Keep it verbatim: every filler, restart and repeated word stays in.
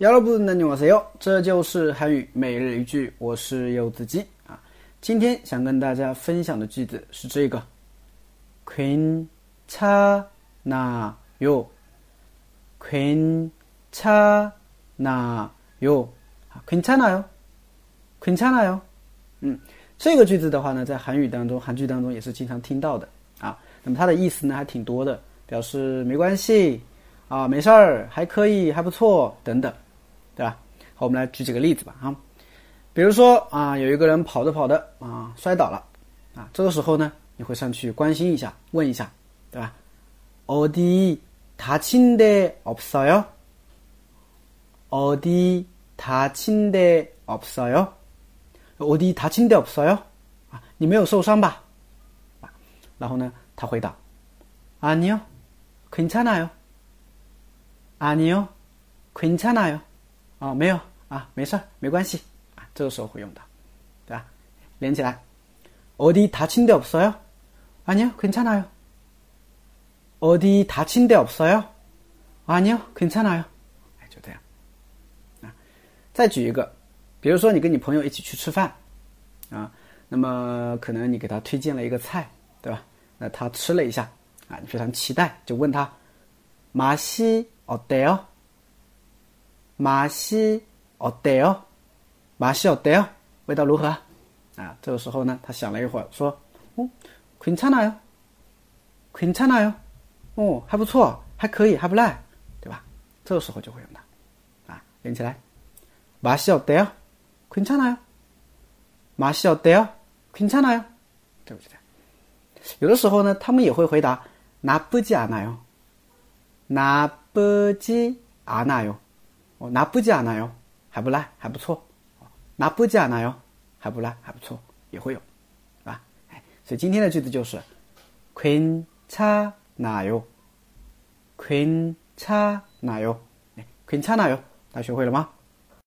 여러분 안녕하세요，这就是韩语每日一句，我是柚子鸡啊。今天想跟大家分享的句子是这个，괜찮아요，괜찮아요，괜찮아요，괜찮아요。嗯，这个句子的话呢，在韩语当中，韩剧当中也是经常听到的啊。那么它的意思呢还挺多的，表示没关系啊，没事儿，还可以，还不错等等。对吧？好，我们来举几个例子吧啊。比如说啊，有一个人跑着跑着啊摔倒了啊，这个时候呢，你会上去关心一下，问一下，对吧？어디 다친 데 없어요？ 어디 다친 데 없어요？ 어디 다친 데 없어요？ 啊，你没有受伤吧？啊，然后呢，他回答，아니요， 괜찮아요。 아니요， 괜찮아요。哦，没有啊，没事，没关系啊，这个时候会用到，对吧？连起来，어디 다친 데 없어요？ 아니요， 괜찮아요。 어디 다친 데 없어요？ 아니요， 괜찮아요。 哎，就这样啊。再举一个，比如说你跟你朋友一起去吃饭啊，那么可能你给他推荐了一个菜，对吧？那他吃了一下啊，你非常期待，就问他，맛이 어때요？ 맛이 어때요？ 맛이 어때요？ 味道如何啊？这个时候呢，他想了一会儿，说，哦，괜찮아요，괜찮아요，哦，还不错，还可以，还不赖，对吧？这个时候就会用它，啊，连起来，맛이 어때요？ 괜찮아요，맛이 어때요？ 괜찮아요，对不对？有的时候呢，他们也会回答나쁘지 않아요， 나쁘지 않아요。哦，나쁘지 않아요，还不赖，还不错。나쁘지 않아요，还不赖，还不错，也会有，是吧？哎，所以今天的句子就是괜찮아요，괜찮아요，괜찮아요，大家学会了吗？